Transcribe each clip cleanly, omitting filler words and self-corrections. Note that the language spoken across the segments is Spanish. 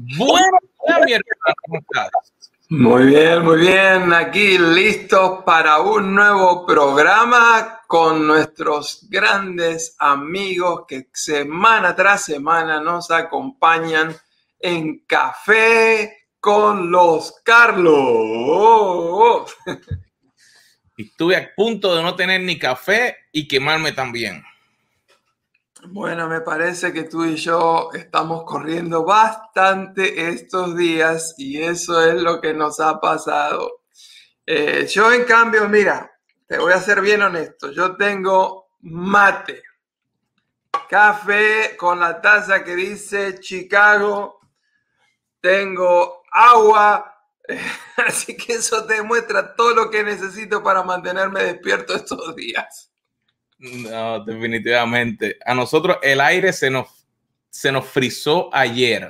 Buenos días, mi hermano, ¿cómo estás? Muy bien. Aquí listos para un nuevo programa con nuestros grandes amigos que semana tras semana nos acompañan en Café con los Carlos. Y estuve a punto de no tener ni café y quemarme también. Bueno, me parece que tú y yo estamos corriendo bastante estos días y eso es lo que nos ha pasado. Yo, en cambio, mira, te voy a ser bien honesto. Yo tengo mate, café con la taza que dice Chicago, tengo agua, así que eso demuestra todo lo que necesito para mantenerme despierto estos días. No, definitivamente. A nosotros el aire se nos frizó ayer.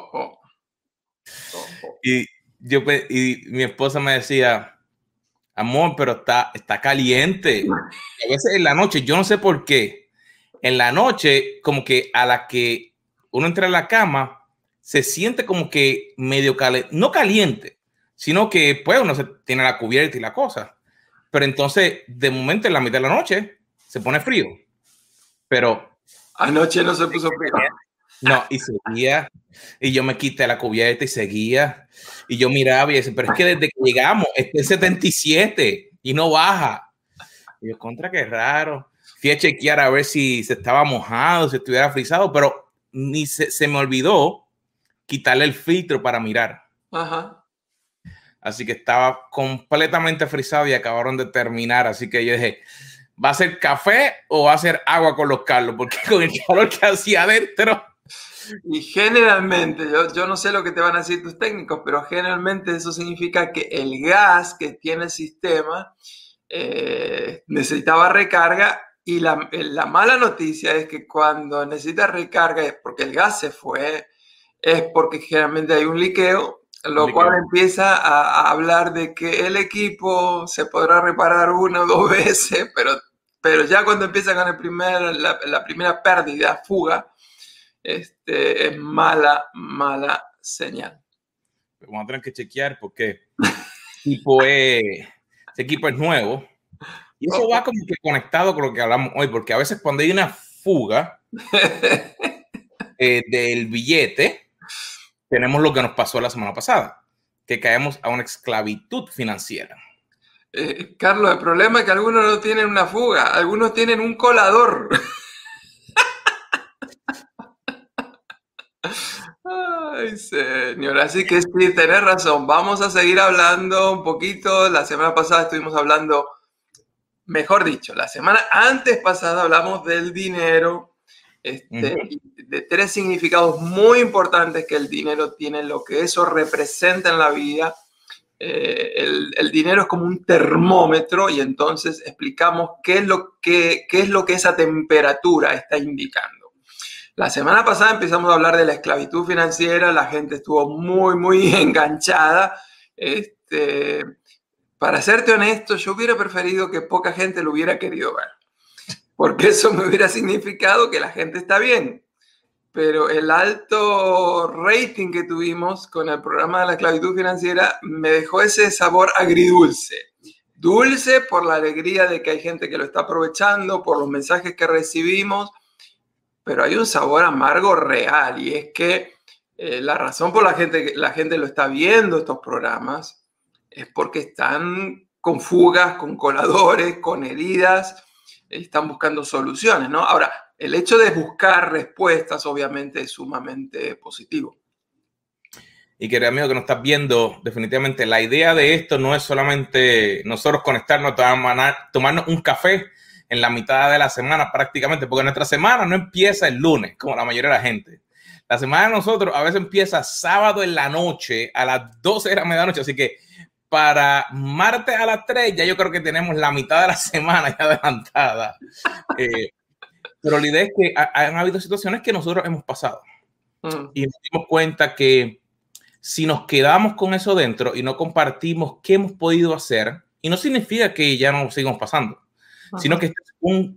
Y mi esposa me decía, amor, pero está caliente. Y a veces en la noche, yo no sé por qué, en la noche, como que a la que uno entra a la cama, se siente como que medio caliente, no caliente, sino que pues uno tiene la cubierta y la cosa. Pero entonces, de momento, en la mitad de la noche, se pone frío. Pero anoche no se puso frío. No, y seguía, y yo me quité la cubierta y seguía, y yo miraba y decía, pero es que desde que llegamos, está en 77 y no baja. Y yo, contra, qué raro. Fui a chequear a ver si se estaba mojado, si estuviera frizado, pero ni se me olvidó quitarle el filtro para mirar. Ajá. Así que estaba completamente frizado y acabaron de terminar. Así que yo dije, ¿va a ser café o va a ser agua con los Carlos? Porque con el calor que hacía adentro. Y generalmente, yo no sé lo que te van a decir tus técnicos, pero generalmente eso significa que el gas que tiene el sistema necesitaba recarga, y la mala noticia es que cuando necesita recarga es porque el gas se fue, es porque generalmente hay un liqueo, cual empieza a hablar de que el equipo se podrá reparar una o dos veces, pero ya cuando empieza con la primera pérdida, fuga, es mala señal. Vamos a tener que chequear porque ese equipo es nuevo y eso va como que conectado con lo que hablamos hoy, porque a veces cuando hay una fuga del billete, tenemos lo que nos pasó la semana pasada, que caemos a una esclavitud financiera. Carlos, el problema es que algunos no tienen una fuga, algunos tienen un colador. Ay, señor, así que sí, tenés razón. Vamos a seguir hablando un poquito. La semana pasada estuvimos hablando, mejor dicho, la semana antes pasada hablamos del dinero, de tres significados muy importantes que el dinero tiene, lo que eso representa en la vida. El dinero es como un termómetro, y entonces explicamos qué es lo que esa temperatura está indicando. La semana pasada empezamos a hablar de la esclavitud financiera, la gente estuvo muy enganchada. Para serte honesto, yo hubiera preferido que poca gente lo hubiera querido ver, porque eso me hubiera significado que la gente está bien. Pero el alto rating que tuvimos con el programa de la esclavitud financiera me dejó ese sabor agridulce. Dulce por la alegría de que hay gente que lo está aprovechando, por los mensajes que recibimos, pero hay un sabor amargo real, y es que la razón por la gente lo está viendo estos programas es porque están con fugas, con coladores, con heridas, están buscando soluciones, ¿no? Ahora, el hecho de buscar respuestas obviamente es sumamente positivo. Y querido amigo que nos estás viendo, definitivamente la idea de esto no es solamente nosotros conectarnos, tomarnos un café en la mitad de la semana prácticamente, porque nuestra semana no empieza el lunes, como la mayoría de la gente. La semana de nosotros a veces empieza sábado en la noche, a las 12 de la medianoche, así que para martes a las 3 ya yo creo que tenemos la mitad de la semana ya adelantada. Pero la idea es que han habido situaciones que nosotros hemos pasado y nos dimos cuenta que si nos quedamos con eso dentro y no compartimos qué hemos podido hacer, y no significa que ya no sigamos pasando, sino que es un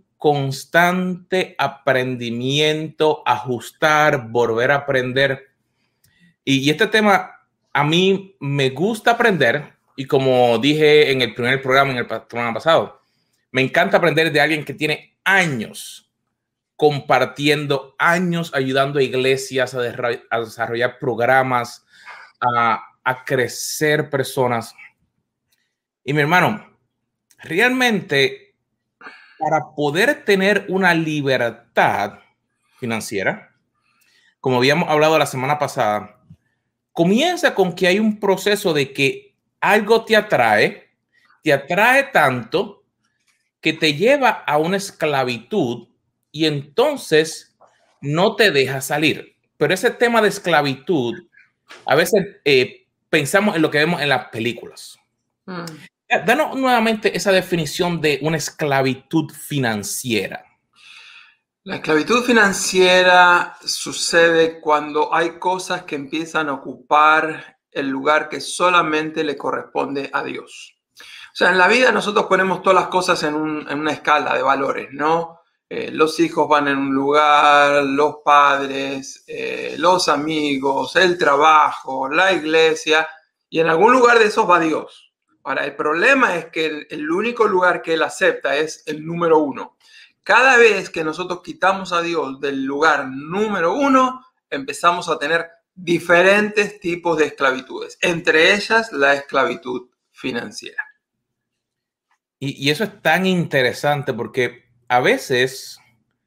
constante aprendimiento, ajustar, volver a aprender. Y este tema a mí me gusta aprender, y como dije en el primer programa, en el programa pasado, me encanta aprender de alguien que tiene años compartiendo, años ayudando a iglesias a desarrollar programas, a crecer personas. Y mi hermano, realmente para poder tener una libertad financiera, como habíamos hablado la semana pasada, comienza con que hay un proceso de que algo te atrae tanto que te lleva a una esclavitud y entonces no te deja salir. Pero ese tema de esclavitud, a veces pensamos en lo que vemos en las películas. Danos nuevamente esa definición de una esclavitud financiera. La esclavitud financiera sucede cuando hay cosas que empiezan a ocupar el lugar que solamente le corresponde a Dios. O sea, en la vida nosotros ponemos todas las cosas en una escala de valores, ¿no? Los hijos van en un lugar, los padres, los amigos, el trabajo, la iglesia, y en algún lugar de esos va Dios. Ahora, el problema es que el único lugar que Él acepta es el número 1. Cada vez que nosotros quitamos a Dios del lugar número 1, empezamos a tener diferentes tipos de esclavitudes, entre ellas la esclavitud financiera. Y eso es tan interesante porque a veces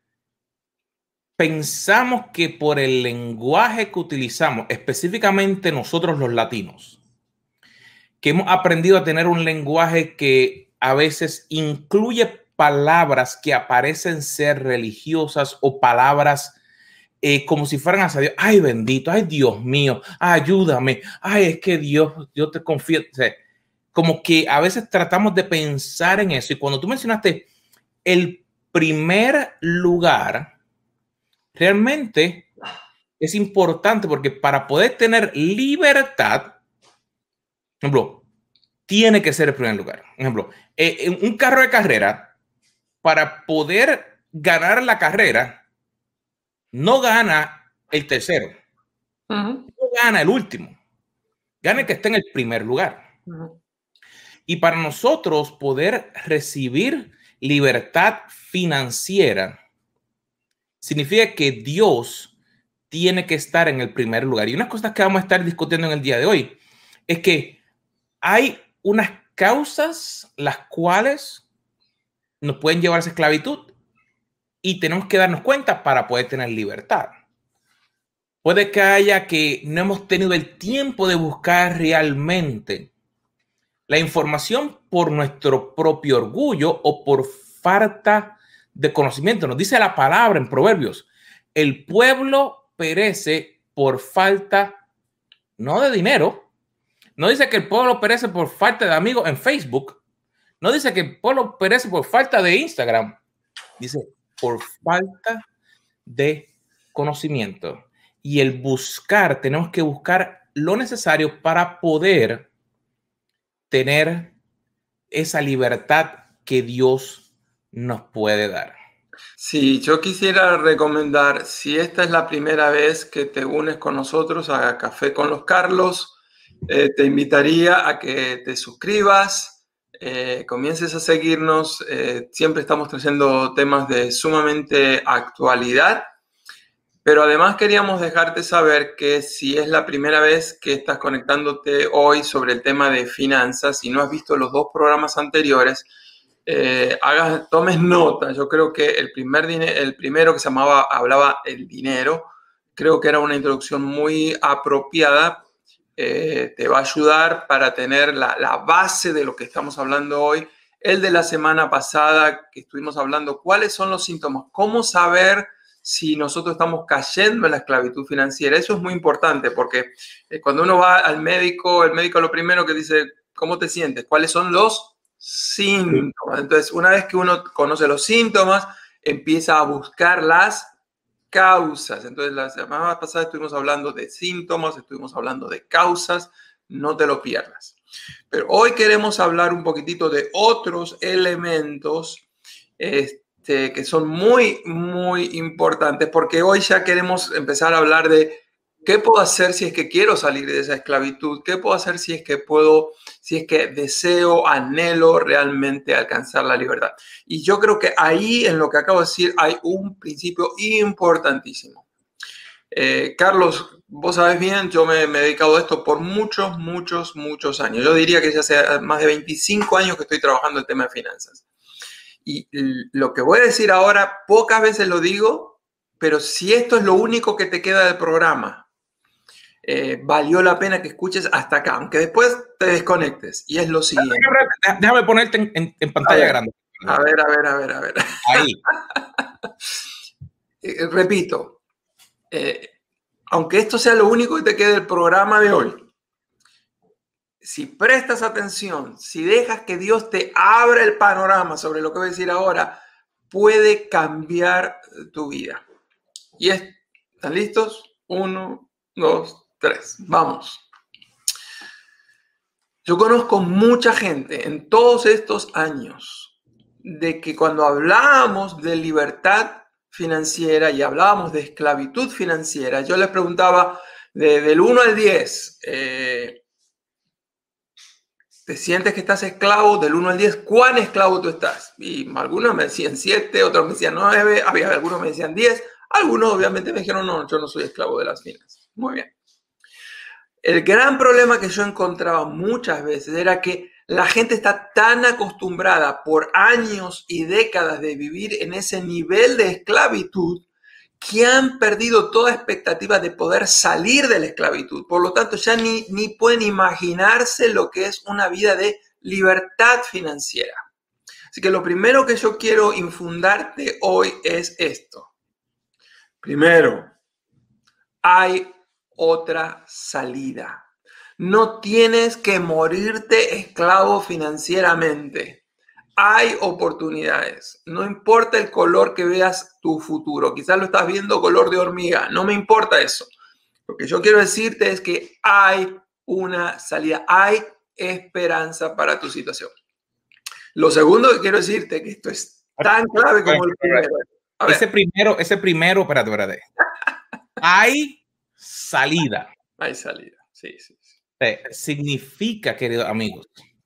pensamos que por el lenguaje que utilizamos, específicamente nosotros los latinos, que hemos aprendido a tener un lenguaje que a veces incluye palabras que aparecen ser religiosas o palabras como si fueran hacia Dios. Ay, bendito, ay, Dios mío, ayúdame, ay, es que Dios, yo te confío. O sea, como que a veces tratamos de pensar en eso. Y cuando tú mencionaste el primer lugar, realmente es importante porque para poder tener libertad, por ejemplo, tiene que ser el primer lugar. Por ejemplo, un carro de carrera, para poder ganar la carrera, no gana el tercero, no gana el último, gana el que esté en el primer lugar. Y para nosotros poder recibir libertad financiera, significa que Dios tiene que estar en el primer lugar. Y unas cosas que vamos a estar discutiendo en el día de hoy es que hay unas causas las cuales nos pueden llevar a esa esclavitud y tenemos que darnos cuenta para poder tener libertad. Puede que haya que no hemos tenido el tiempo de buscar realmente la información por nuestro propio orgullo o por falta de conocimiento. Nos dice la palabra en Proverbios: el pueblo perece por falta, no de dinero. No dice que el pueblo perece por falta de amigos en Facebook. No dice que el pueblo perece por falta de Instagram. Dice por falta de conocimiento. Y el buscar, tenemos que buscar lo necesario para poder tener esa libertad que Dios nos puede dar. Sí, yo quisiera recomendar, si esta es la primera vez que te unes con nosotros a Café con los Carlos, te invitaría a que te suscribas, comiences a seguirnos. Siempre estamos trayendo temas de sumamente actualidad, pero además queríamos dejarte saber que si es la primera vez que estás conectándote hoy sobre el tema de finanzas y no has visto los 2 programas anteriores, tomes nota. Yo creo que el primero que se hablaba el dinero, creo que era una introducción muy apropiada. Te va a ayudar para tener la base de lo que estamos hablando hoy. El de la semana pasada que estuvimos hablando, ¿cuáles son los síntomas? ¿Cómo saber si nosotros estamos cayendo en la esclavitud financiera? Eso es muy importante porque cuando uno va al médico, el médico lo primero que dice: ¿cómo te sientes? ¿Cuáles son los síntomas? Entonces, una vez que uno conoce los síntomas, empieza a buscar las causas. Entonces, la semana pasada estuvimos hablando de síntomas, estuvimos hablando de causas. No te lo pierdas. Pero hoy queremos hablar un poquitito de otros elementos que son muy, muy importantes, porque hoy ya queremos empezar a hablar de ¿Qué puedo hacer si es que quiero salir de esa esclavitud? ¿Qué puedo hacer si es que deseo, anhelo realmente alcanzar la libertad? Y yo creo que ahí, en lo que acabo de decir, hay un principio importantísimo. Carlos, vos sabés bien, yo me he dedicado a esto por muchos, muchos, muchos años. Yo diría que ya hace más de 25 años que estoy trabajando el tema de finanzas. Y lo que voy a decir ahora, pocas veces lo digo, pero si esto es lo único que te queda del programa, valió la pena que escuches hasta acá, aunque después te desconectes. Y es lo siguiente. Déjame ponerte en pantalla grande. A ver. Ahí. Repito, aunque esto sea lo único que te quede del programa de hoy, si prestas atención, si dejas que Dios te abra el panorama sobre lo que voy a decir ahora, puede cambiar tu vida. Y ¿están listos? 1, 2, 3. Vamos. Yo conozco mucha gente en todos estos años de que cuando hablábamos de libertad financiera y hablábamos de esclavitud financiera, yo les preguntaba del 1 al 10, ¿te sientes que estás esclavo? Del 1 al 10, ¿cuán esclavo tú estás? Y algunos me decían 7, otros me decían 9, había algunos me decían 10, algunos obviamente me dijeron, no, yo no soy esclavo de las finanzas. Muy bien. El gran problema que yo encontraba muchas veces era que la gente está tan acostumbrada por años y décadas de vivir en ese nivel de esclavitud que han perdido toda expectativa de poder salir de la esclavitud. Por lo tanto, ya ni pueden imaginarse lo que es una vida de libertad financiera. Así que lo primero que yo quiero infundarte hoy es esto. Primero, hay otra salida. No tienes que morirte esclavo financieramente. Hay oportunidades. No importa el color que veas tu futuro. Quizás lo estás viendo color de hormiga. No me importa eso. Lo que yo quiero decirte es que hay una salida. Hay esperanza para tu situación. Lo segundo que quiero decirte es que esto es tan clave como el primero. Ese primero, espérate. Hay salida. Hay salida, sí. Significa, queridos amigos,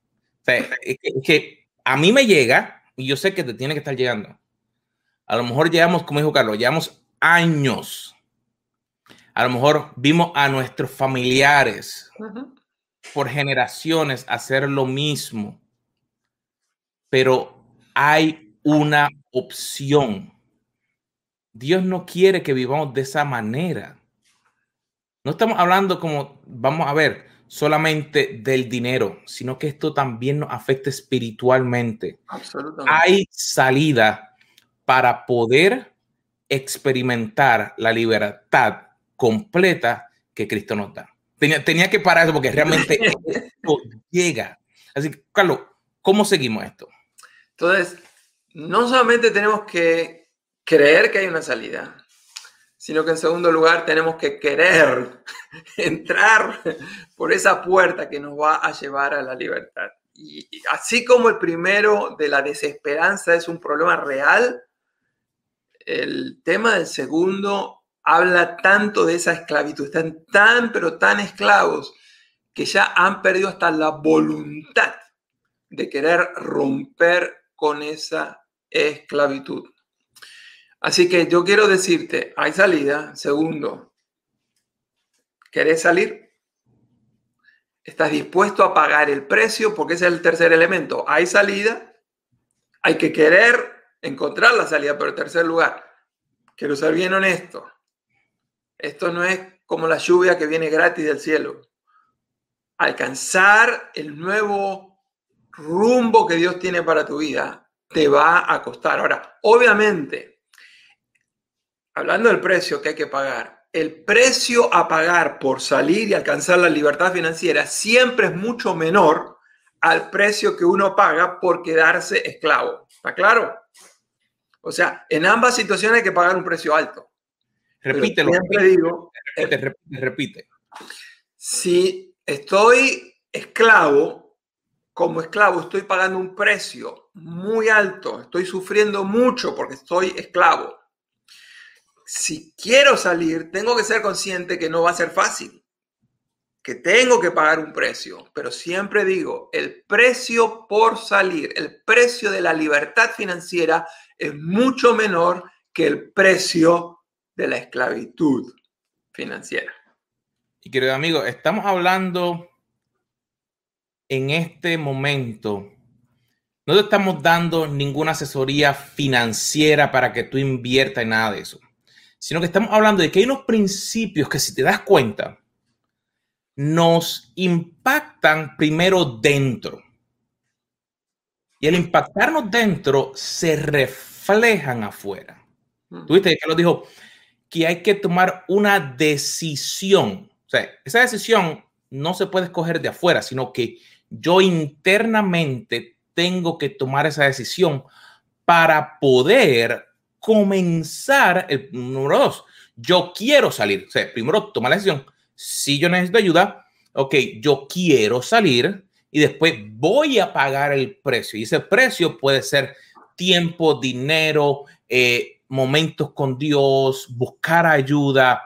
que a mí me llega, y yo sé que te tiene que estar llegando. A lo mejor llevamos, como dijo Carlos, llevamos años. A lo mejor vimos a nuestros familiares por generaciones hacer lo mismo. Pero hay una opción. Dios no quiere que vivamos de esa manera. No estamos hablando como, vamos a ver, solamente del dinero, sino que esto también nos afecta espiritualmente. Absolutamente. Hay salida para poder experimentar la libertad completa que Cristo nos da. Tenía que parar eso porque realmente esto llega. Así que, Carlos, ¿cómo seguimos esto? Entonces, no solamente tenemos que creer que hay una salida, sino que en segundo lugar tenemos que querer entrar por esa puerta que nos va a llevar a la libertad. Y así como el primero de la desesperanza es un problema real, el tema del segundo habla tanto de esa esclavitud. Están pero tan esclavos que ya han perdido hasta la voluntad de querer romper con esa esclavitud. Así que yo quiero decirte, hay salida. Segundo, ¿querés salir? ¿Estás dispuesto a pagar el precio? Porque ese es el tercer elemento. Hay salida, hay que querer encontrar la salida, pero en tercer lugar, quiero ser bien honesto. Esto no es como la lluvia que viene gratis del cielo. Alcanzar el nuevo rumbo que Dios tiene para tu vida te va a costar. Ahora, obviamente, hablando del precio que hay que pagar, el precio a pagar por salir y alcanzar la libertad financiera siempre es mucho menor al precio que uno paga por quedarse esclavo. ¿Está claro? O sea, en ambas situaciones hay que pagar un precio alto. Repítelo. Repite. Si estoy esclavo, como esclavo estoy pagando un precio muy alto, estoy sufriendo mucho porque estoy esclavo. si quiero salir, tengo que ser consciente que no va a ser fácil, que tengo que pagar un precio, pero siempre digo, el precio por salir, el precio de la libertad financiera es mucho menor que el precio de la esclavitud financiera. Y querido amigo, estamos hablando en este momento, no te estamos dando ninguna asesoría financiera para que tú inviertas en nada de eso, sino que estamos hablando de que hay unos principios que, si te das cuenta, nos impactan primero dentro. Y al impactarnos dentro, se reflejan afuera. ¿Tuviste que Carlos dijo que hay que tomar una decisión? O sea, esa decisión no se puede escoger de afuera, sino que yo internamente tengo que tomar esa decisión para poder comenzar el número 2. Yo quiero salir. O sea, primero toma la decisión. Si yo necesito ayuda, ok, yo quiero salir y después voy a pagar el precio. Y ese precio puede ser tiempo, dinero, momentos con Dios, buscar ayuda.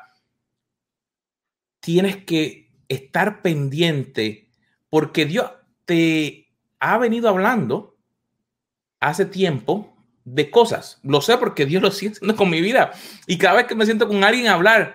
Tienes que estar pendiente porque Dios te ha venido hablando hace tiempo de cosas. Lo sé porque Dios lo sigue haciendo con mi vida. Y cada vez que me siento con alguien a hablar,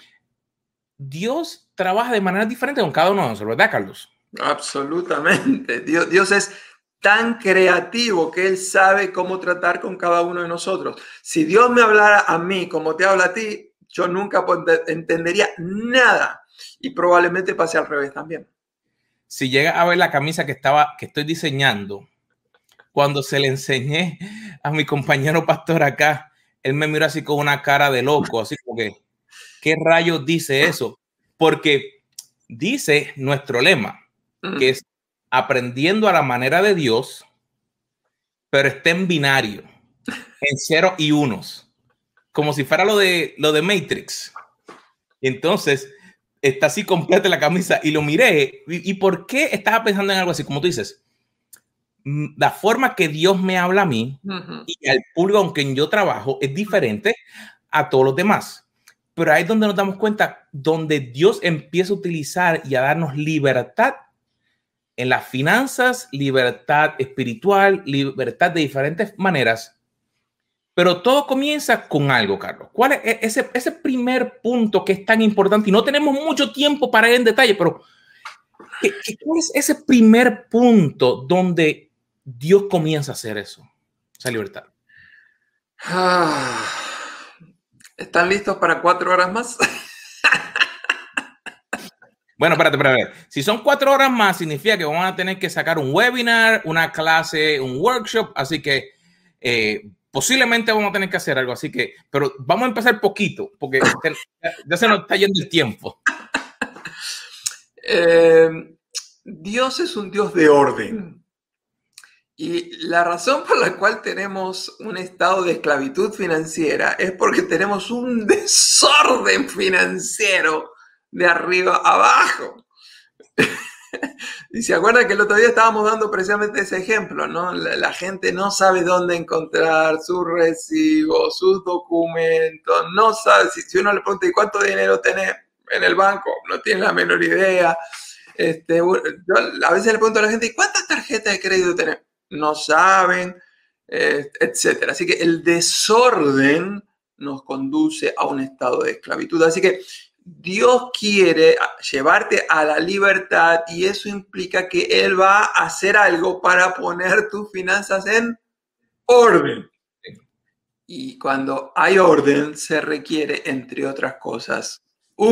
Dios trabaja de manera diferente con cada uno de nosotros, ¿verdad, Carlos? Absolutamente. Dios es tan creativo que Él sabe cómo tratar con cada uno de nosotros. Si Dios me hablara a mí como te habla a ti, yo nunca entendería nada y probablemente pase al revés también. Si llega a ver la camisa que estoy diseñando, cuando se le enseñé a mi compañero pastor acá, él me miró así con una cara de loco, así como que, ¿qué rayos dice eso? Porque dice nuestro lema, que es aprendiendo a la manera de Dios, pero está en binario, en ceros y unos, como si fuera lo de Matrix. Entonces, está así completa la camisa y lo miré. ¿Y por qué estaba pensando en algo así? Como tú dices, la forma que Dios me habla a mí y al público con quien yo trabajo es diferente a todos los demás. Pero ahí es donde nos damos cuenta, donde Dios empieza a utilizar y a darnos libertad en las finanzas, libertad espiritual, libertad de diferentes maneras. Pero todo comienza con algo, Carlos. ¿Cuál es ese primer punto que es tan importante? Y no tenemos mucho tiempo para ir en detalle, pero ¿cuál es ese primer punto donde Dios comienza a hacer eso? Esa libertad. ¿Están listos para 4 horas más? Bueno, espérate. Si son 4 horas más, significa que vamos a tener que sacar un webinar, una clase, un workshop. Así que posiblemente vamos a tener que hacer algo. Así que, pero vamos a empezar poquito, porque ya se nos está yendo el tiempo. Dios es un Dios de orden. Y la razón por la cual tenemos un estado de esclavitud financiera es porque tenemos un desorden financiero de arriba a abajo. Y se acuerdan que el otro día estábamos dando precisamente ese ejemplo, ¿no? La gente no sabe dónde encontrar sus recibos, sus documentos, no sabe, si uno le pregunta, ¿y cuánto dinero tenés en el banco? No tiene la menor idea. Yo a veces le pregunto a la gente, ¿y cuántas tarjetas de crédito tenés? No saben, etcétera. Así que el desorden nos conduce a un estado de esclavitud. Así que Dios quiere llevarte a la libertad y eso implica que Él va a hacer algo para poner tus finanzas en orden. Y cuando hay orden, se requiere, entre otras cosas,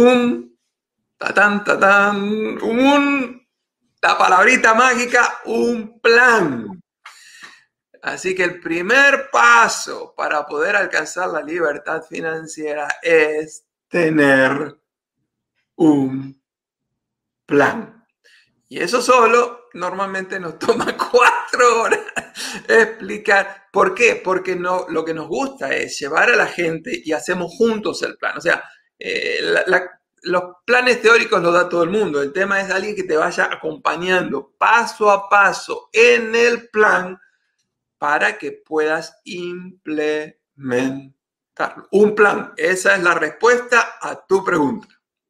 la palabrita mágica, un plan. Así que el primer paso para poder alcanzar la libertad financiera es tener un plan. Y eso solo normalmente nos toma 4 horas explicar. ¿Por qué? Porque lo que nos gusta es llevar a la gente y hacemos juntos el plan. O sea, los planes teóricos los da todo el mundo. El tema es alguien que te vaya acompañando paso a paso en el plan para que puedas implementarlo. Un plan. Esa es la respuesta a tu pregunta.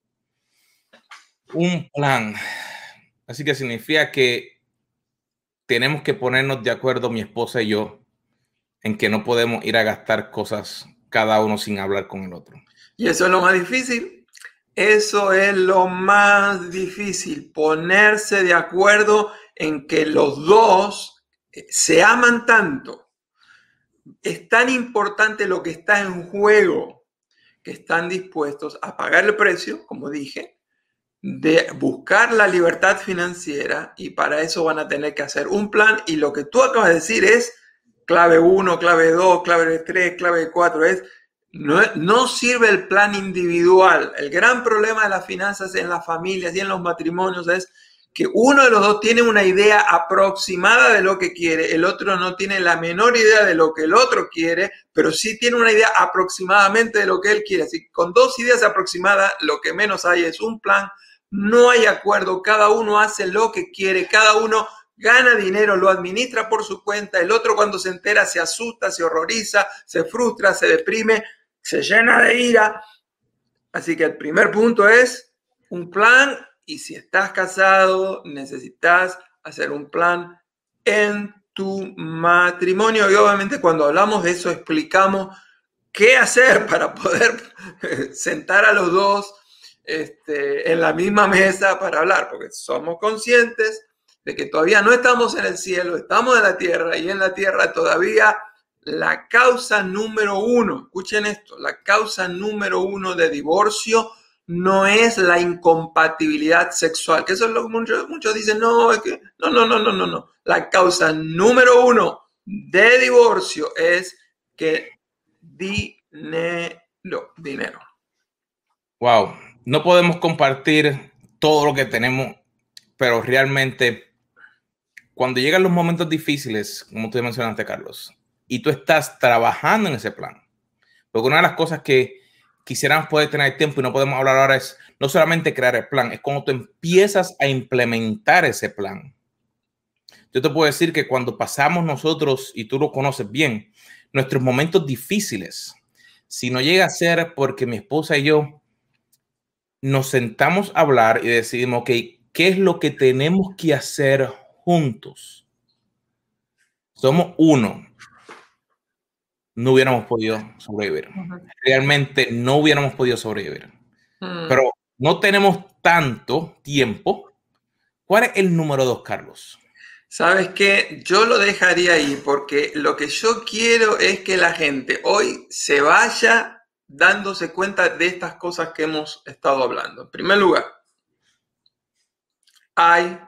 Un plan. Así que significa que tenemos que ponernos de acuerdo, mi esposa y yo, en que no podemos ir a gastar cosas cada uno sin hablar con el otro. Y eso es lo más difícil. Eso es lo más difícil. Ponerse de acuerdo en que los dos se aman tanto. Es tan importante lo que está en juego que están dispuestos a pagar el precio, como dije, de buscar la libertad financiera, y para eso van a tener que hacer un plan. Y lo que tú acabas de decir es clave 1, clave 2, clave 3, clave 4. No sirve el plan individual. El gran problema de las finanzas en las familias y en los matrimonios es que uno de los dos tiene una idea aproximada de lo que quiere, el otro no tiene la menor idea de lo que el otro quiere, pero sí tiene una idea aproximadamente de lo que él quiere. Así que con dos ideas aproximadas, lo que menos hay es un plan. No hay acuerdo, cada uno hace lo que quiere, cada uno gana dinero, lo administra por su cuenta. El otro, cuando se entera, se asusta, se horroriza, se frustra, se deprime, se llena de ira. Así que el primer punto es un plan. Y si estás casado, necesitas hacer un plan en tu matrimonio. Y obviamente cuando hablamos de eso, explicamos qué hacer para poder sentar a los dos en la misma mesa para hablar, porque somos conscientes de que todavía no estamos en el cielo, estamos en la tierra, y en la tierra todavía la causa número uno, escuchen esto, la causa número uno de divorcio no es la incompatibilidad sexual, que eso es lo que muchos dicen, no. La causa número uno de divorcio es que dinero. Wow, no podemos compartir todo lo que tenemos, pero realmente cuando llegan los momentos difíciles, como tú mencionaste, Carlos, y tú estás trabajando en ese plan, porque una de las cosas que quisiéramos poder tener tiempo y no podemos hablar ahora es no solamente crear el plan, es cuando tú empiezas a implementar ese plan. Yo te puedo decir que cuando pasamos nosotros, y tú lo conoces bien, nuestros momentos difíciles, si no llega a ser porque mi esposa y yo nos sentamos a hablar y decidimos, ok, ¿qué es lo que tenemos que hacer juntos? Somos uno. No hubiéramos podido sobrevivir. Realmente no hubiéramos podido sobrevivir. Pero no tenemos tanto tiempo. ¿Cuál es el número 2, Carlos? ¿Sabes qué? Yo lo dejaría ahí porque lo que yo quiero es que la gente hoy se vaya dándose cuenta de estas cosas que hemos estado hablando. En primer lugar, hay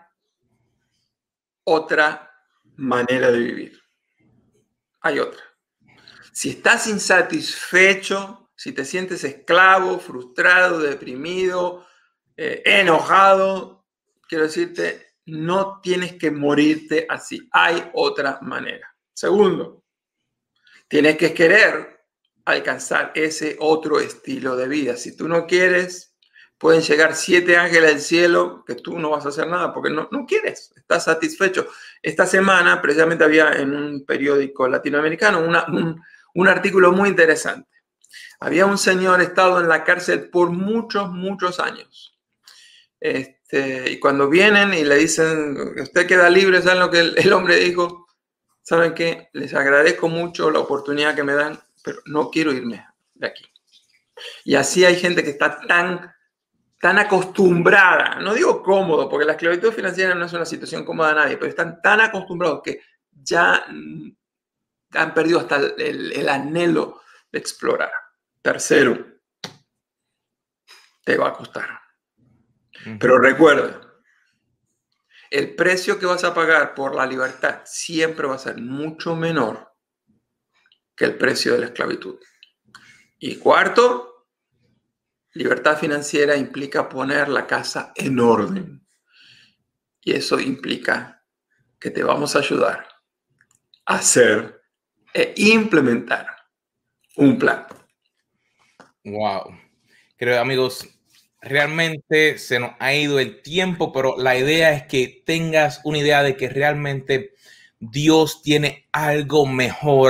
otra manera de vivir. Hay otra. Si estás insatisfecho, si te sientes esclavo, frustrado, deprimido, enojado, quiero decirte, no tienes que morirte así. Hay otra manera. Segundo, tienes que querer alcanzar ese otro estilo de vida. Si tú no quieres, pueden llegar 7 ángeles del cielo que tú no vas a hacer nada porque no quieres, estás satisfecho. Esta semana precisamente había en un periódico latinoamericano un artículo muy interesante. Había un señor estado en la cárcel por muchos años. Y cuando vienen y le dicen, usted queda libre, ¿saben lo que el hombre dijo? ¿Saben qué? Les agradezco mucho la oportunidad que me dan, pero no quiero irme de aquí. Y así hay gente que está tan acostumbrada, no digo cómodo, porque la esclavitud financiera no es una situación cómoda a nadie, pero están tan acostumbrados que ya han perdido hasta el anhelo de explorar. Tercero, te va a costar. Pero recuerda, el precio que vas a pagar por la libertad siempre va a ser mucho menor que el precio de la esclavitud. Y cuarto, libertad financiera implica poner la casa en orden. Y eso implica que te vamos a ayudar a hacer e implementar un plan. Wow. Creo, amigos, realmente se nos ha ido el tiempo, pero la idea es que tengas una idea de que realmente Dios tiene algo mejor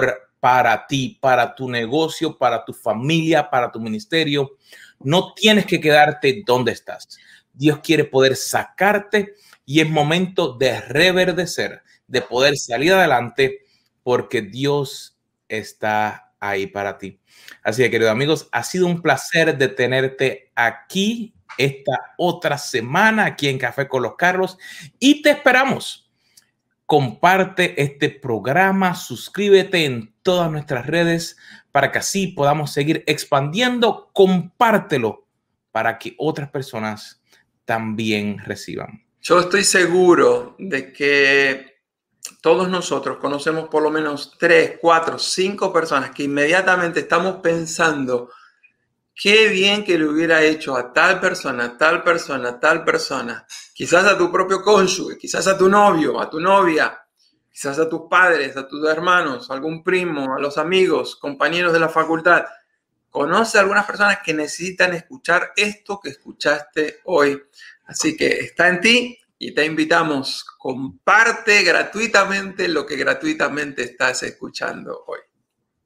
para ti, para tu negocio, para tu familia, para tu ministerio. No tienes que quedarte donde estás. Dios quiere poder sacarte y es momento de reverdecer, de poder salir adelante porque Dios está ahí para ti. Así que, queridos amigos, ha sido un placer de tenerte aquí esta otra semana aquí en Café con los Carlos y te esperamos. Comparte este programa, suscríbete en todas nuestras redes para que así podamos seguir expandiendo. Compártelo para que otras personas también reciban. Yo estoy seguro de que todos nosotros conocemos por lo menos 3, 4, 5 personas que inmediatamente estamos pensando qué bien que le hubiera hecho a tal persona, tal persona, tal persona. Quizás a tu propio cónyuge, quizás a tu novio, a tu novia, quizás a tus padres, a tus hermanos, a algún primo, a los amigos, compañeros de la facultad. Conoce a algunas personas que necesitan escuchar esto que escuchaste hoy. Así que está en ti y te invitamos. Comparte gratuitamente lo que gratuitamente estás escuchando hoy.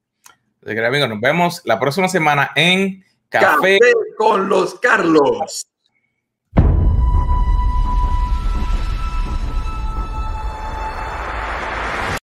Amigos, nos vemos la próxima semana en Café con los Carlos.